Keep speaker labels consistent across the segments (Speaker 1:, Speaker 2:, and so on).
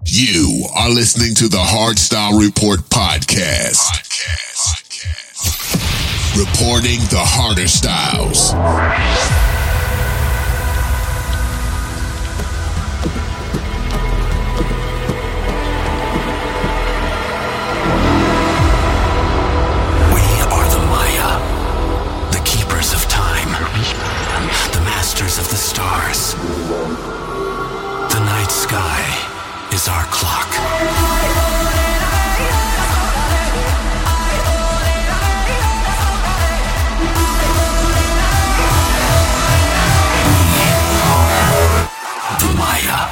Speaker 1: You are listening to the Hardstyle Report podcast. Reporting the harder styles.
Speaker 2: We are the Maya, the keepers of time, the masters of the stars. The night sky is our clock. The Maya.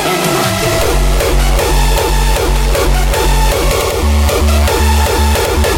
Speaker 3: Anyone.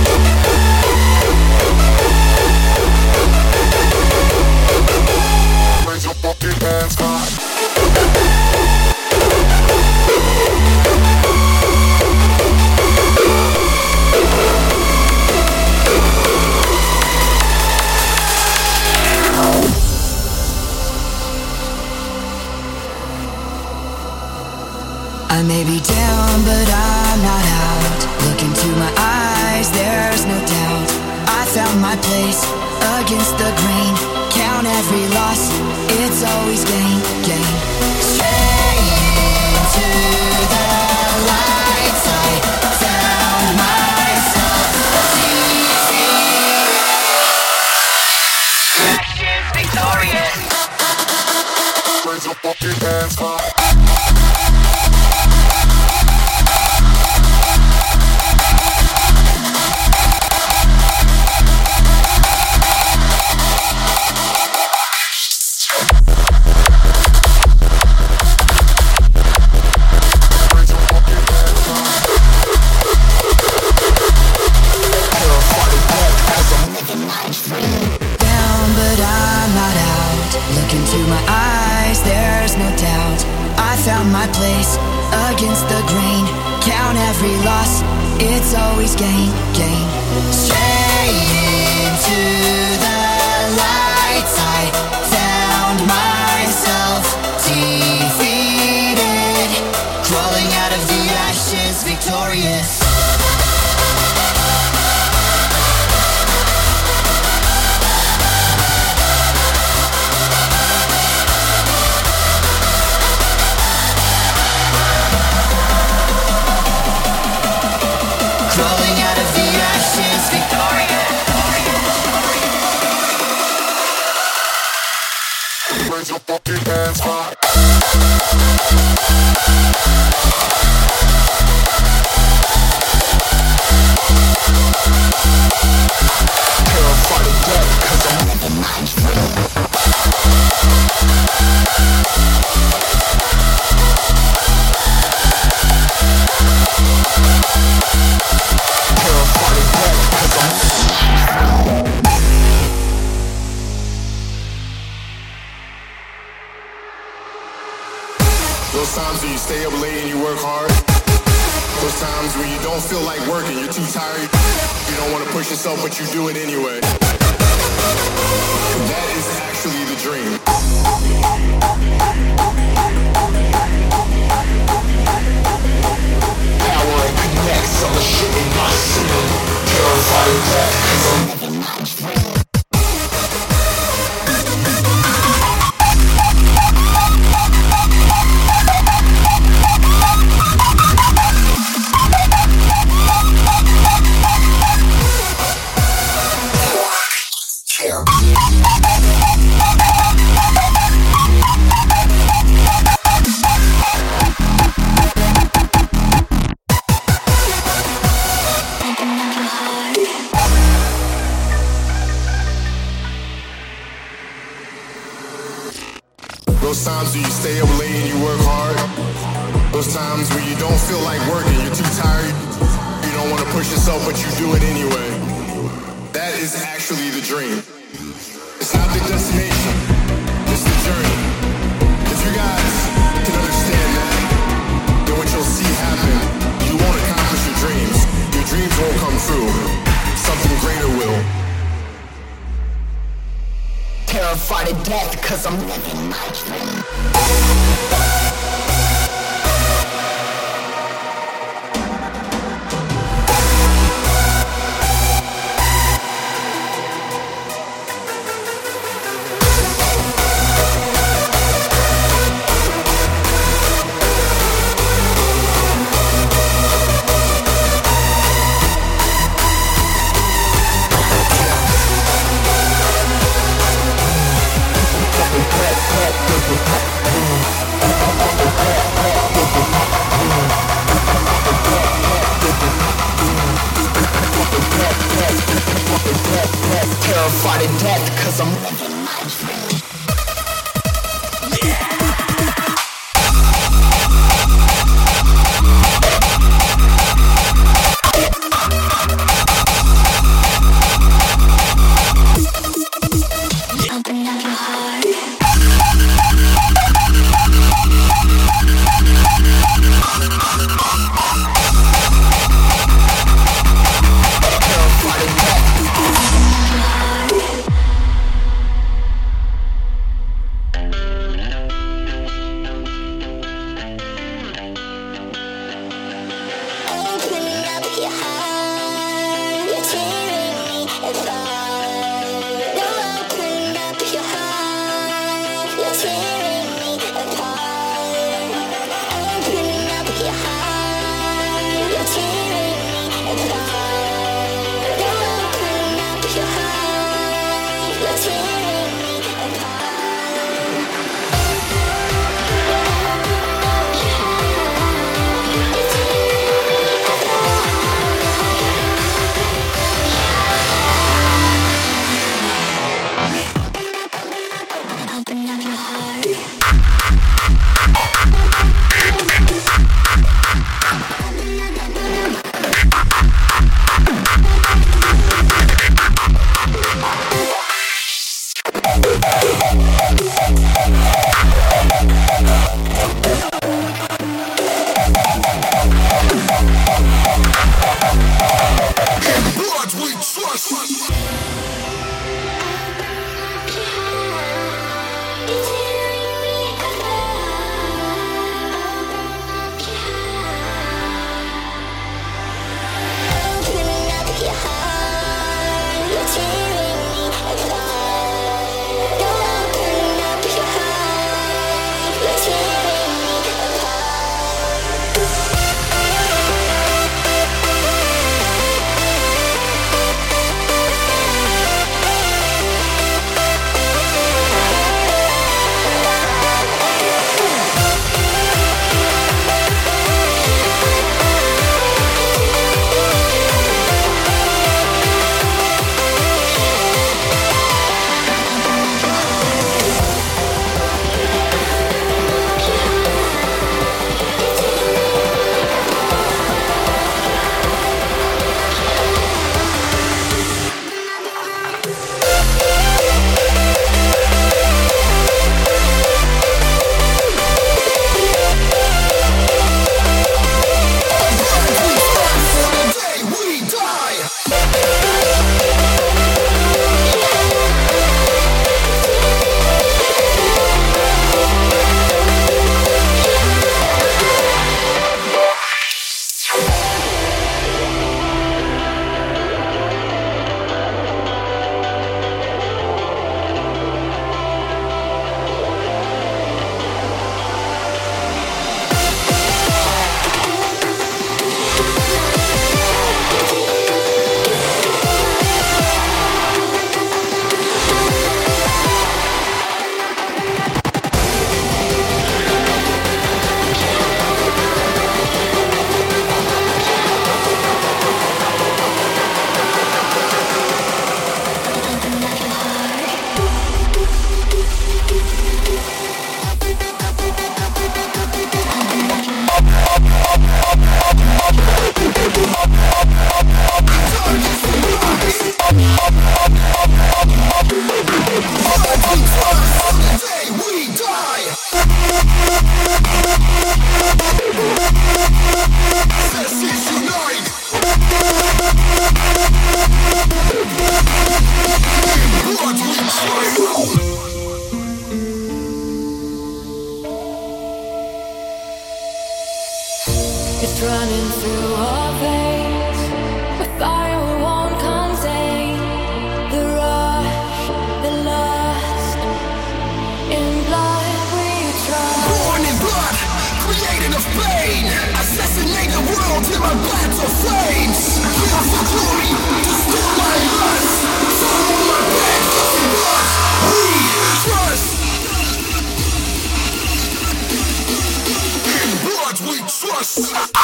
Speaker 3: may be down, but I'm not out. Look into my eyes, there's no doubt. I found my place against the grain. Count every loss, it's always gain, gain. Straight into the light side, found myself defeated. Ashes victorious. Raise your fucking hands high. Found my place against the grain. Count every loss, it's always gain, gain. Straight into the light side, found myself defeated. Crawling out of the ashes, victorious. Raise your fucking hands high. Terrified of death, 'cause I'm living life real. Terrified of death, 'cause I'm living life real. Those times when you stay up late and you work hard. Those times when you don't feel like working, you're too tired. You don't want to push yourself, but you do it anyway. That is actually the dream. Power and connects all the shit in my city. Terrified of death, 'cause I'm living my dream. Those times when you stay up late and you work hard. Those times when you don't feel like working, you're too tired. You don't want to push yourself, but you do it anyway. That is actually the dream. It's not the destination, it's the journey. If you guys can understand that, then what you'll see happen, you won't accomplish your dreams. Your dreams won't come true. Something greater will. Terrified of death, 'cause I'm living my dream. Terrified of death, 'cause I'm living my dream. Terrified of death.
Speaker 4: It's running through our veins, a fire we won't contain. The rush, the lust, in blood we trust.
Speaker 5: Born in blood, created of pain. Assassinate the world till my blood's of flames. Kill for glory, destroy my lust. Follow my path, in blood we trust. In blood we trust.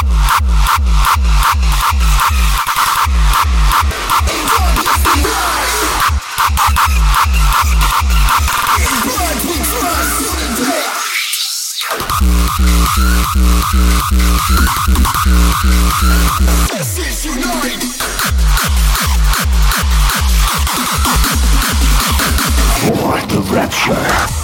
Speaker 5: This is Unite.
Speaker 6: For the rapture.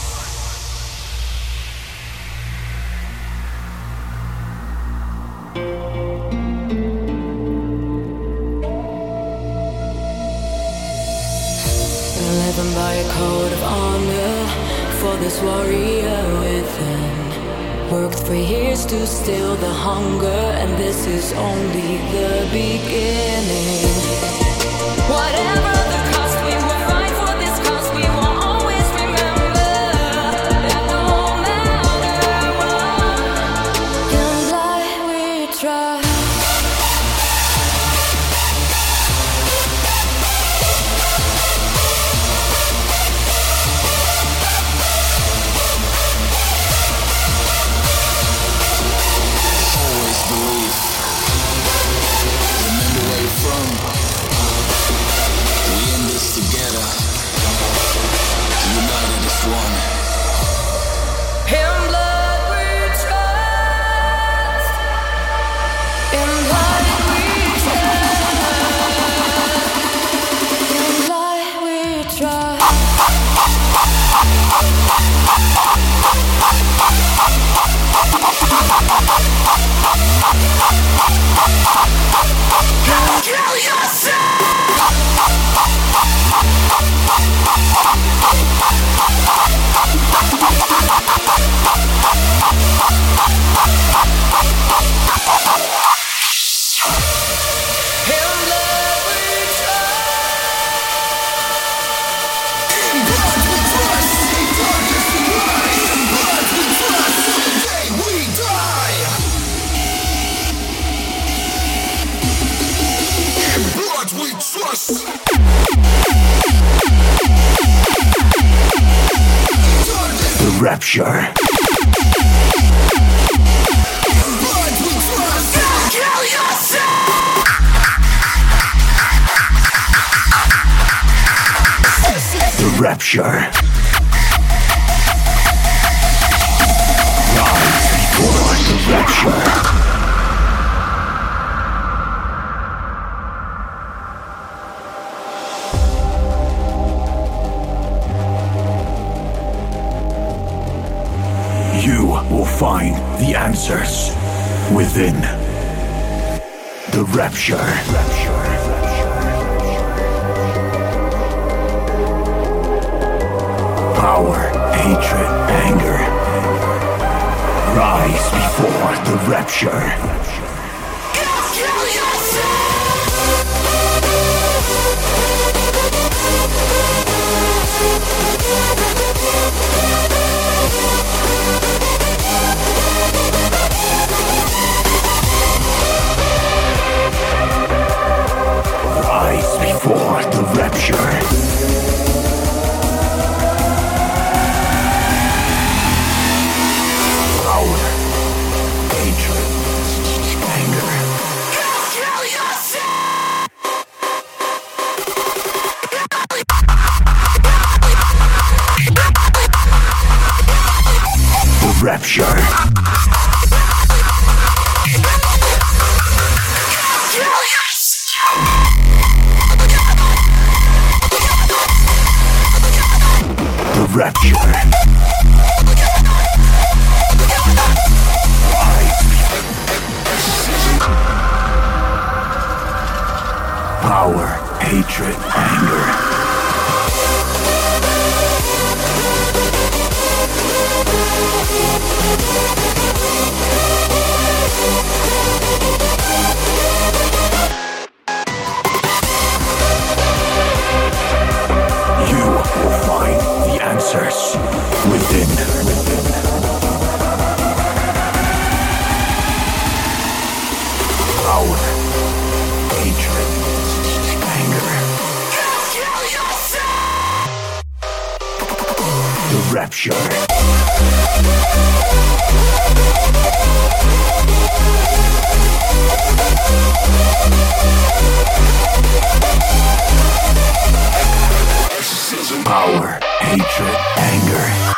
Speaker 4: Living by a code of honor for this warrior within. Worked for years to still the hunger, and this is only the beginning. Whatever the cost, we will fight for this cause. We will always remember that no matter what, in blood we trust.
Speaker 5: Remember where you're from. We Kill yourself!
Speaker 6: The rapture.
Speaker 5: Kill yourself!
Speaker 6: The rapture. Rise before the rapture. You will find the answers within the rapture. Power, hatred, anger. Rise before the rapture.
Speaker 5: Kill yourself!
Speaker 6: Rise before the rapture. Power, hatred, anger.
Speaker 5: Kill yourself!
Speaker 6: The rapture.
Speaker 5: Kill yourself!
Speaker 6: The rapture. Power, hatred, anger. You will find the answers within. Power, hatred, anger.
Speaker 5: Kill yourself!
Speaker 6: The rapture. Power, hatred, anger.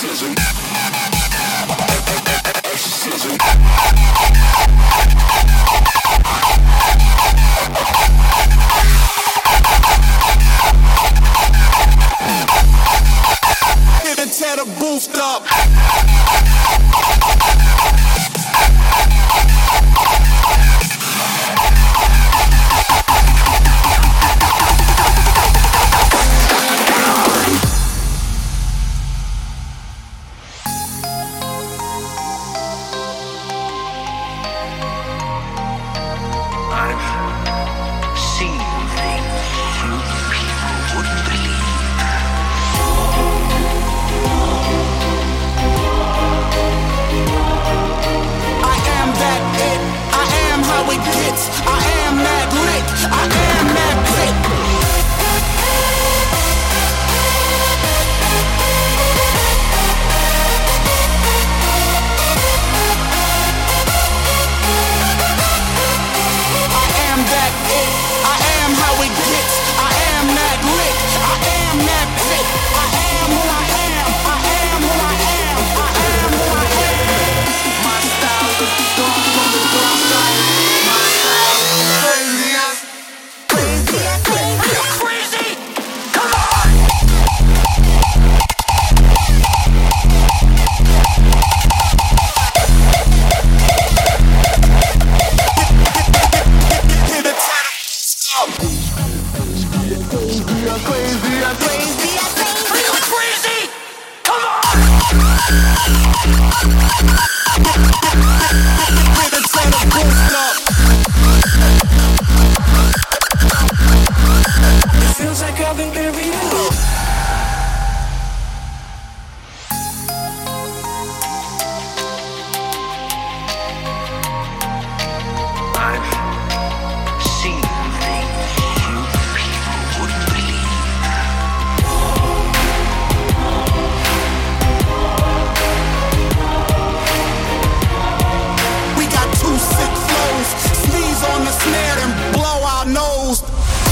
Speaker 5: Tear the booth up.
Speaker 6: I've seen things you people wouldn't believe.
Speaker 5: It gets. I am that lick. I am that click. I am that it. I am how it gets. I am that lick. I am that click. I am who I am. I am who I am. I am who I am. My style is the dawn from the dark side.
Speaker 4: It feels like I've been buried alive.
Speaker 6: I've seen things you people wouldn't believe.
Speaker 5: We got two sick flows, sneeze on the snare and blow our nose.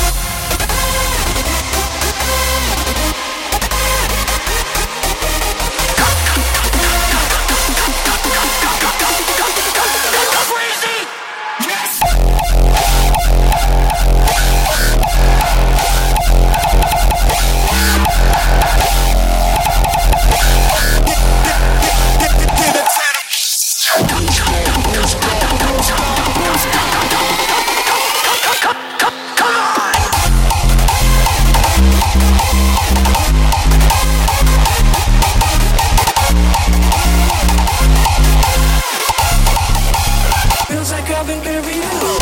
Speaker 4: Feels like I've been buried alive.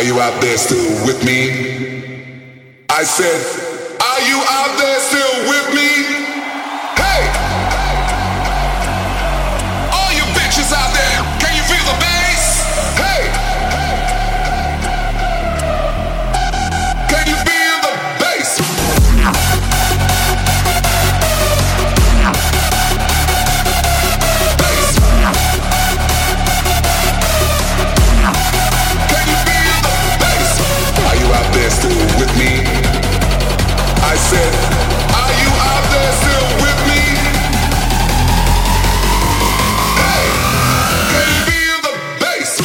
Speaker 1: Are you out there still with me? I said, are you out there still with me? Hey! All you bitches out there, can you feel the bass? Hey! Can you feel the bass? Still with me? I said, are you out there still with me? Hey, can you feel the bass?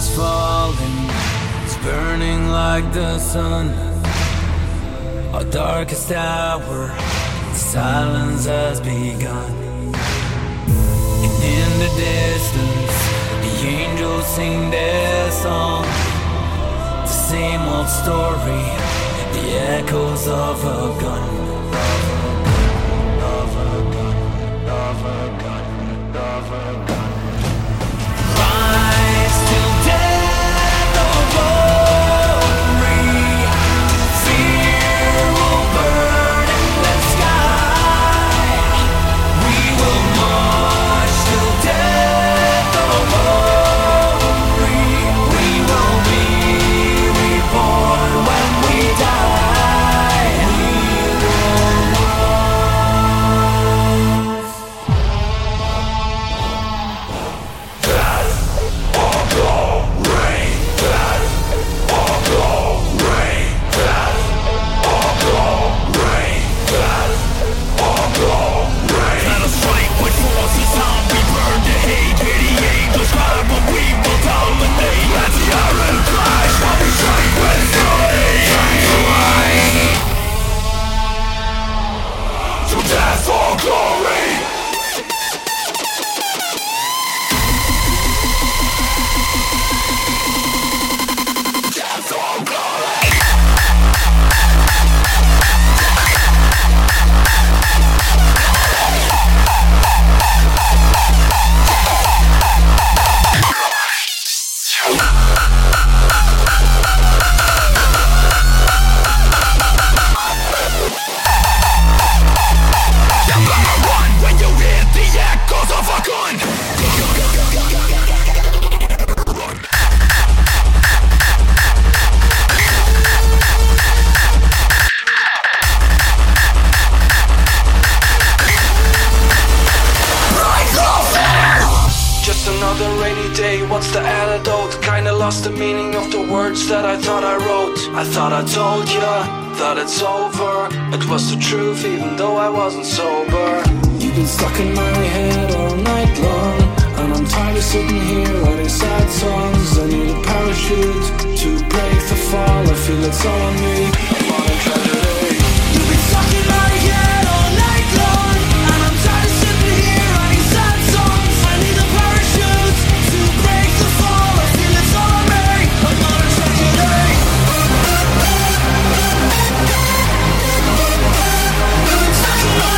Speaker 7: falling, it's burning like the sun. Our darkest hour, silence has begun. And in the distance, the angels sing their song. The same old story, the echoes of a gun. Rise till death or glory, fear will burn in the sky. We will march till death or glory. We will be reborn when we die. We will
Speaker 8: lost the meaning of the words that I thought I wrote. I thought I told ya that it's over. It was the truth even though I wasn't sober.
Speaker 7: You've been stuck in my head all night long, and I'm tired of sitting here writing sad songs. I need a parachute to break the fall. I feel it's all on me. I'm on a tragedy. You've been stuck in my head all night long, and I'm tired of sitting here writing sad songs. I need a parachute to break the fall. I feel it's all on me. I'm on a tragedy. You've been stuck in my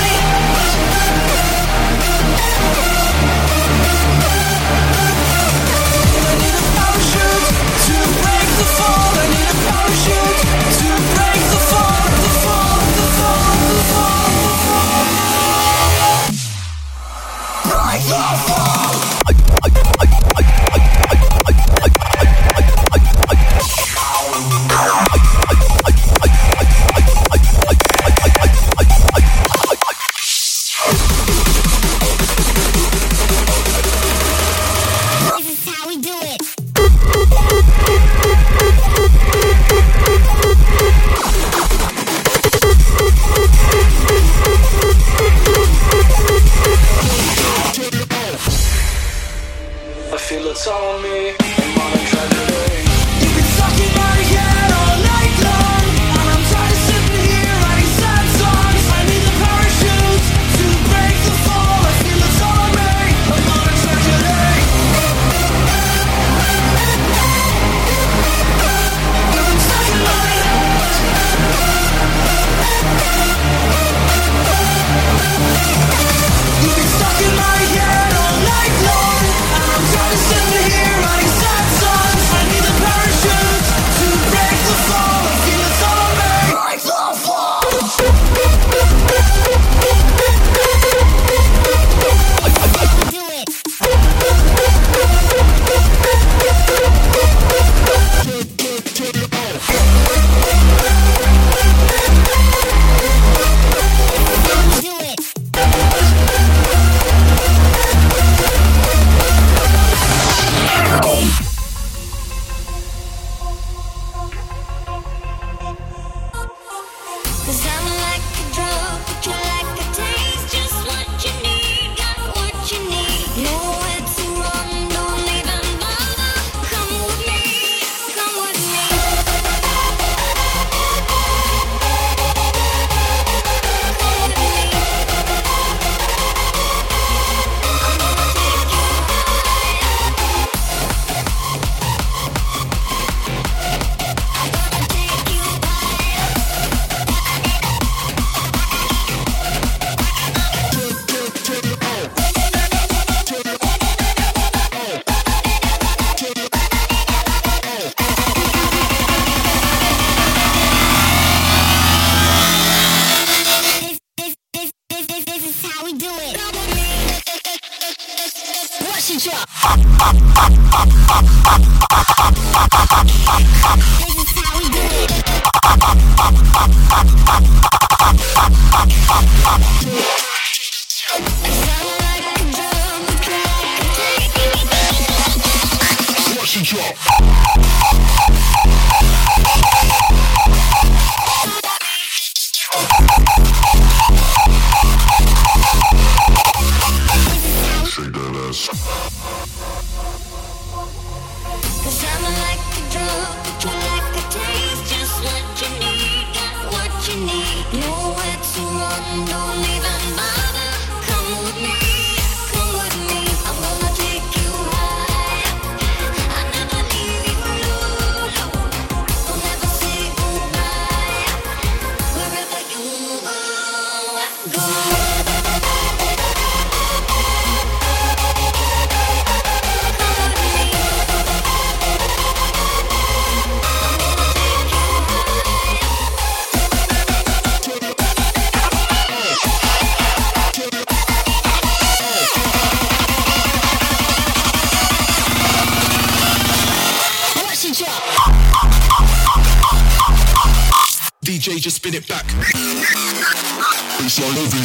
Speaker 5: DJ, just spin it back. It's all over.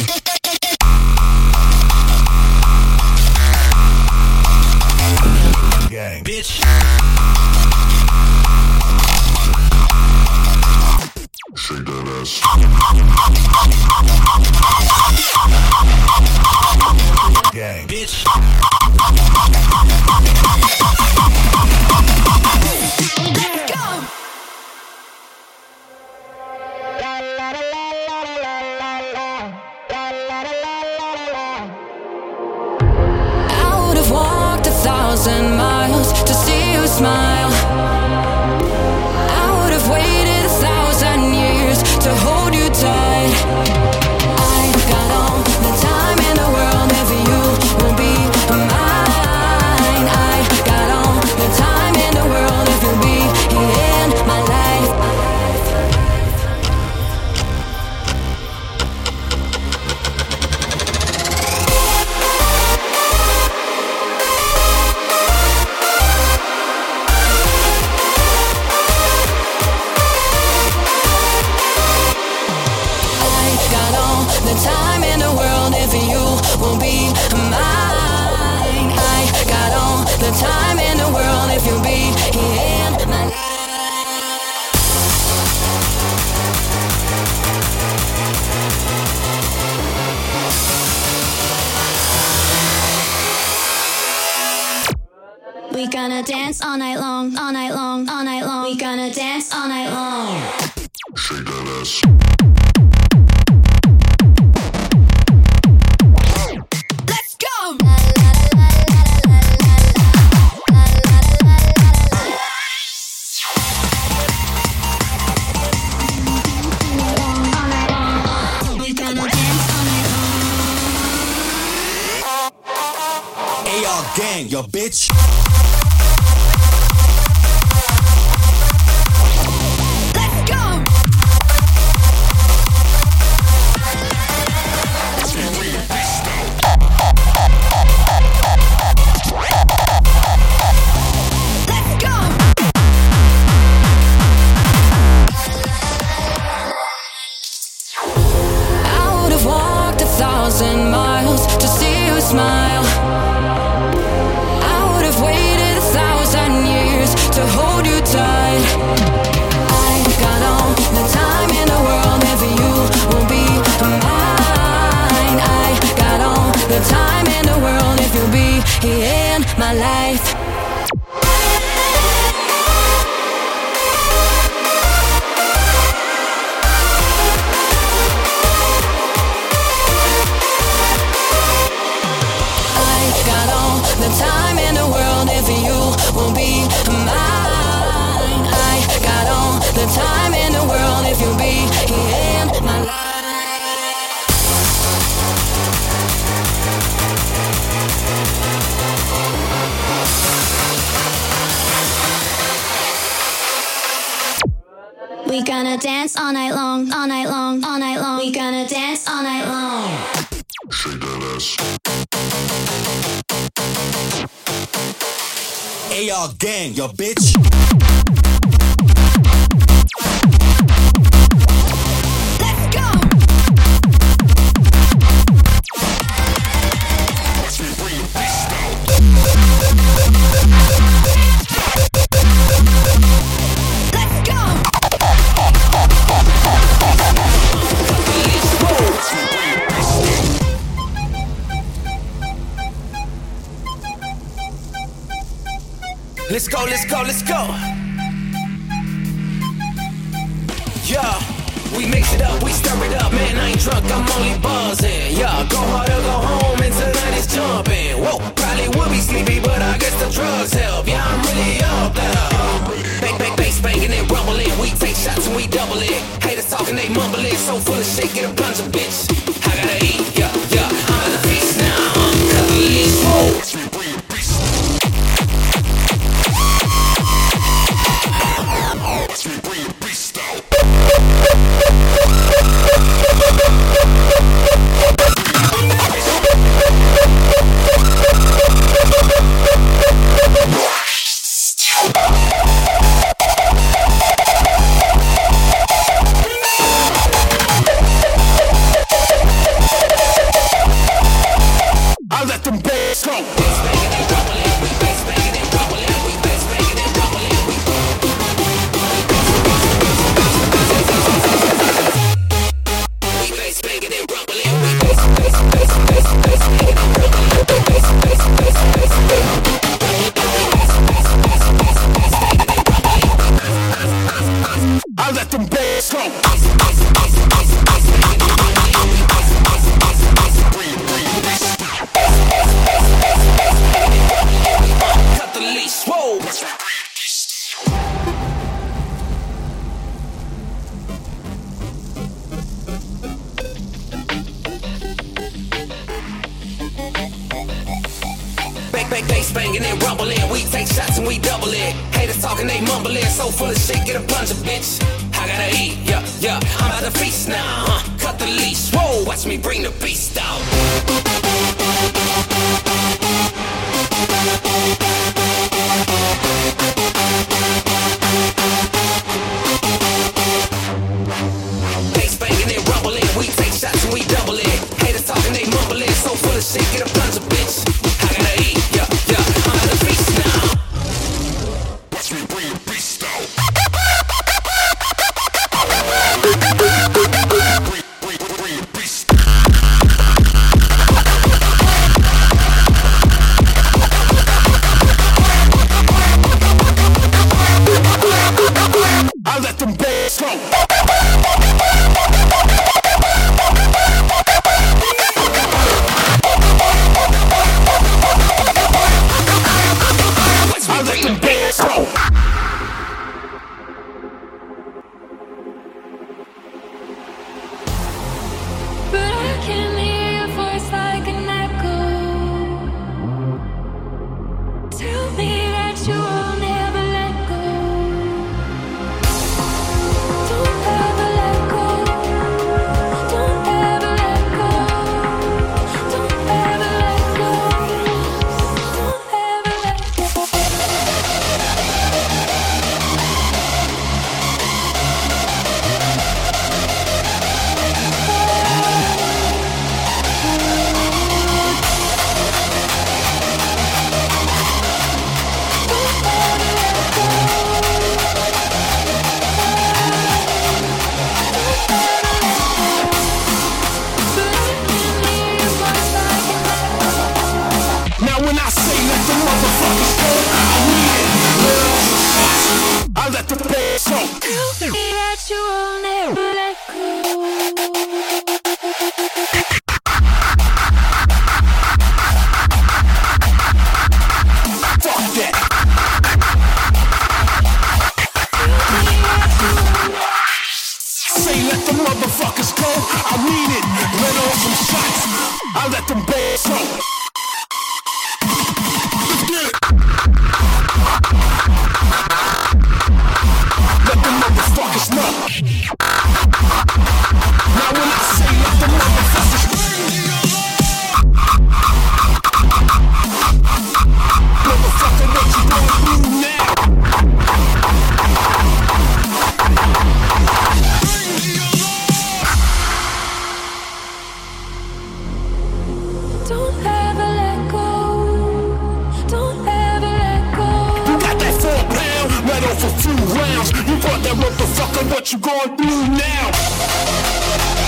Speaker 5: Gang. Bitch. Shake that ass. Gang. Bitch. Let's go.
Speaker 4: I would have walked 1,000 miles to see you smile. I would have waited 1,000 years to hold you tight. I got all the time in the world if you will be mine. I got all the time in the world if you'll be in my life. The time in the world if you will be mine. I got all the time in the world if you'll be in my life.
Speaker 9: We gonna dance all night long, all night long, all night long. We gonna dance all night long.
Speaker 5: Shake that ass.
Speaker 2: Gang, yo bitch.
Speaker 9: Let's go. Let's go.
Speaker 4: I would have walked 1,000 miles to see you smile. Waited 1,000 years to hold you tight. I got all the time in the world if you will be mine. I got all the time in the world if you'll be in my life. The time in the world if you will be mine. I got all the time in the world if you'll be in my life.
Speaker 9: We gonna dance all night long, all night long, all night long. We gonna dance all night long.
Speaker 5: Shake that ass.
Speaker 1: this.
Speaker 10: AR gang, yo bitch.
Speaker 9: Let's go.
Speaker 8: Let's go, let's go, let's go. Yeah, we mix it up, we stir it up. Man, I ain't drunk, I'm only buzzing. Yeah, go hard or go home, and tonight is jumping. Whoa, probably would be sleepy, but I guess the drugs help. Yeah, I'm really up there. Bang, bang, bass banging and rumbling. We take shots and we double it. Haters talking, they mumbling. So full of shit, get a bunch of bitch. I gotta eat, yeah, yeah. I'm at the feast now. Cut the leash, whoa. Bass banging and rumbling, we take shots and we double it. Haters talking, they mumbling, so full of shit, get a bunch of bitch. I gotta eat, yeah, yeah, I'm at the feast now, cut the leash, whoa, watch me bring the beast out. Bass banging and rumbling, we take shots and we double it. Haters talking, they mumbling, so full of shit, get a bunch of bitch. I gotta eat, yeah, yeah, I'm at the feast now.
Speaker 1: Watch me bring the beast out. Bring the beast.
Speaker 3: I let them bass go. I let them bass go. Let's get it. Let the motherfuckers know. Now when I say let the motherfuckers bring the alarm.
Speaker 5: Fuck that motherfucker, what you going through now?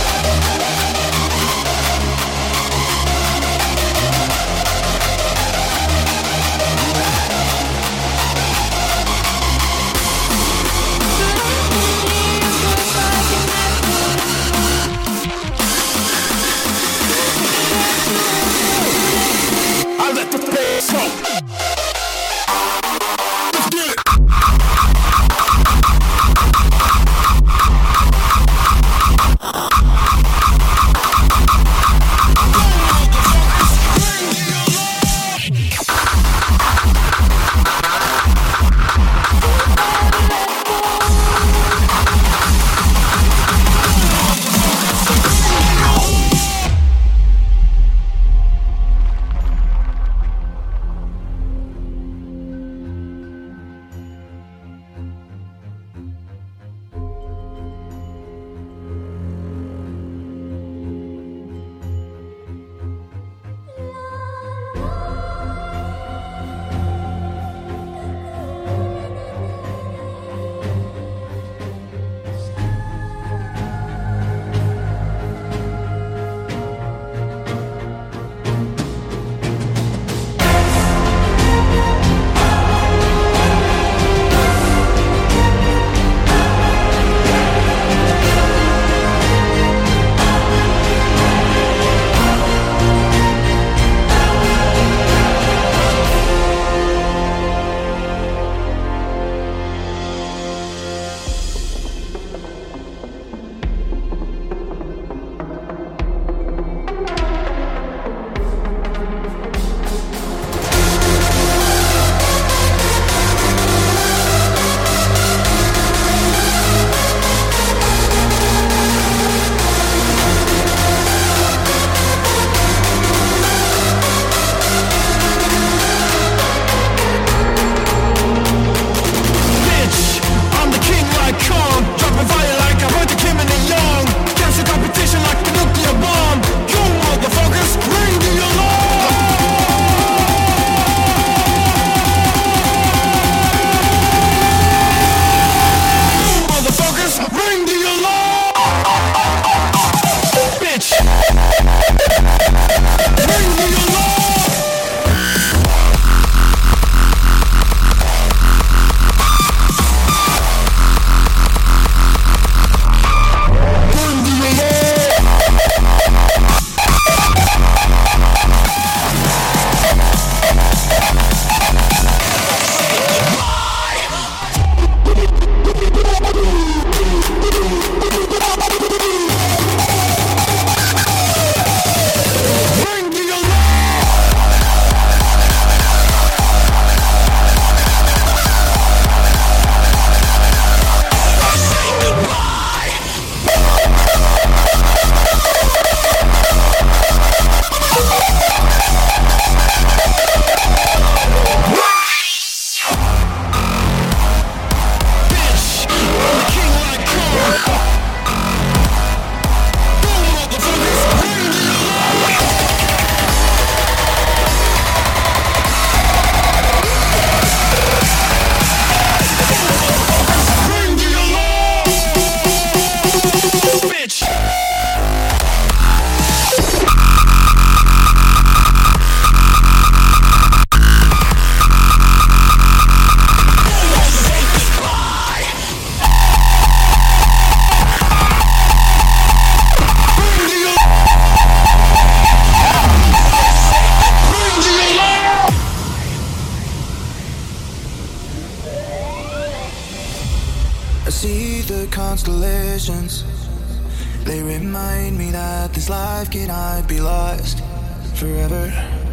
Speaker 5: I let the bass go. Let's get it.
Speaker 11: constellations. They remind me that this life cannot be lost forever.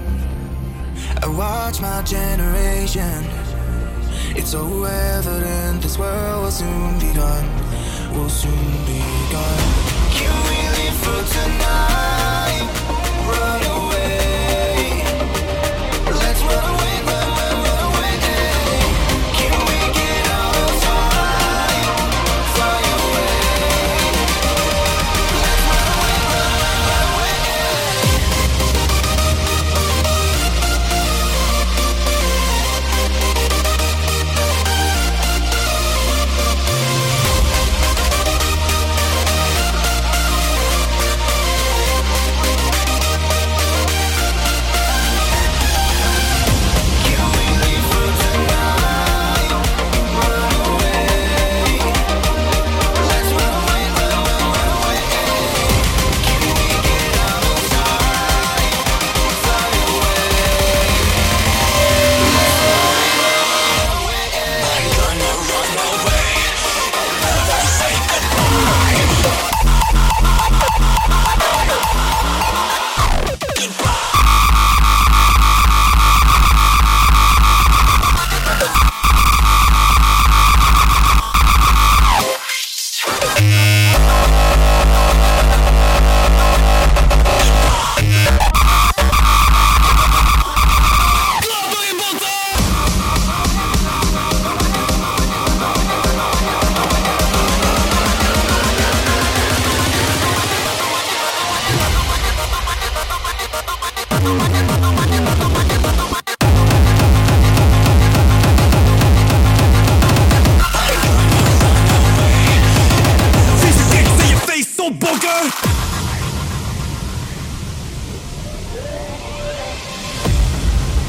Speaker 11: I watch my generation. It's so evident this world will soon be gone. Will soon be gone. Can we live for tonight? Run away. Let's run away, run away. Can we get out of sight? Fly away. Let's run away, run away.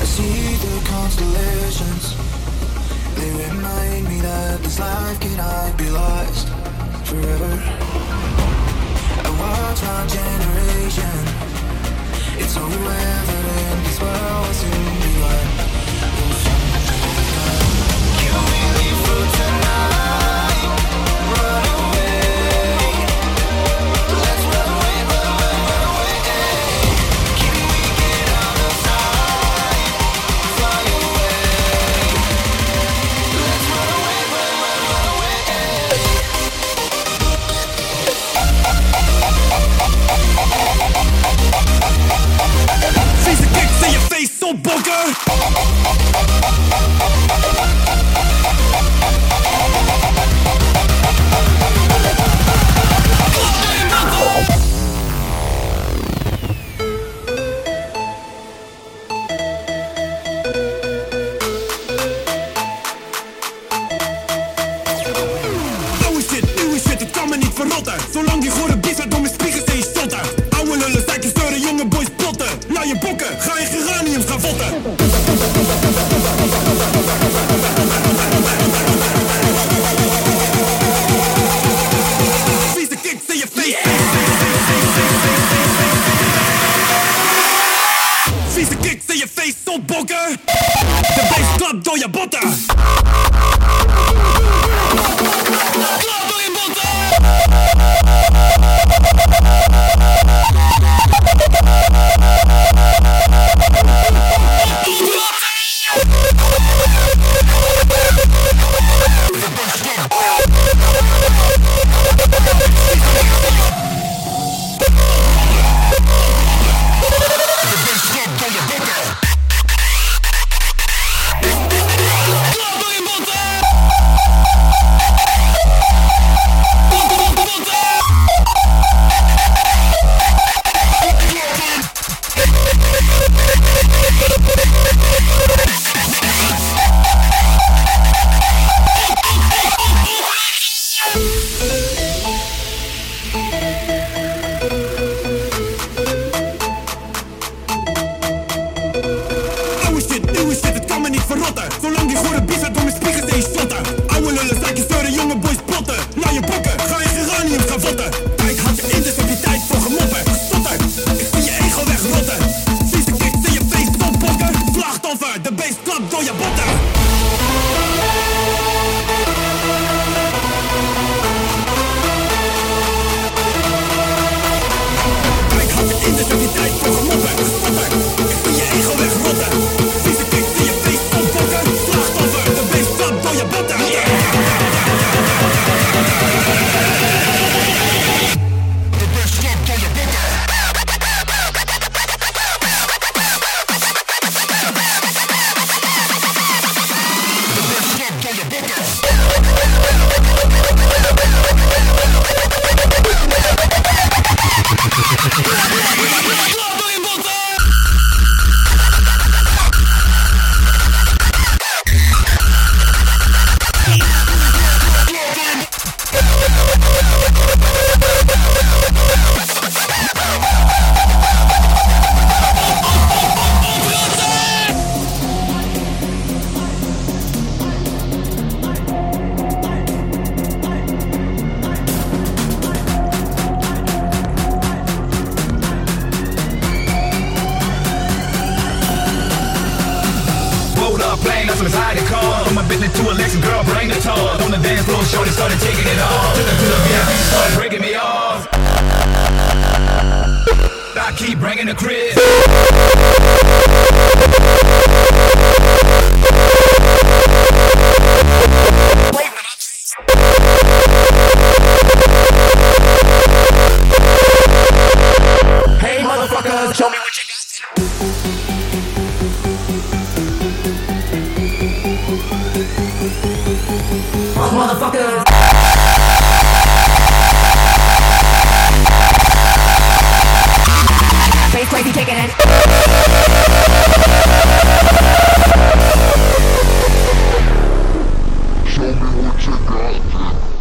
Speaker 11: see the constellations. They remind me that this life cannot be lost forever. I watch my generation. It's so evident this world will soon be one. Can we leave for tonight? Run away. Let's run away, run away, run away. Can we get out of sight? Fly away. Let's run away, run, run, run away.
Speaker 12: Vieze kicks in je face, zo bokken. Nieuwe shit, het kan me niet verrotten. Zolang die gore bies uit door mijn spiegels en je stotten. Oude lullen, zijtjes steuren, jonge boys plotten. Laat je bokken, ga je geraniums gaan votten. Vieze kicks in je face. Vieze kicks in je face, zo bokken. De bass klapt door je botten. Klap door je botten. Nieuwe shit, het kan me niet verrotten. Zolang die gore bies uit door mijn spiegels en je slotten. Oude lullen, zijtjes steuren, jonge boys plotten. Laat je bokken, ga je geraniums gaan votten. Kijk, had je in, dus heb je tijd voor gemoppen. Stotter, ik zie je ego wegrotten. Vieze kicks in je face, zo bokken. Slachtoffer, de bass klapt door je botten. Kijk, had je in, dus heb je tijd voor gemoppen. Stotter, ik zie je ego wegrotten. Vieze kicks in je face, zo bokken. Slachtoffer, de bass klapt door je botten.
Speaker 13: To a Lexus, girl, bring the toys. On the dance floor, shorty started taking it off. Took her to the VIP, started breaking me off. I keep bringing the crib. Hey, motherfuckers, show me what you got. Motherfucker. Face crazy kicking it. Show me what you got.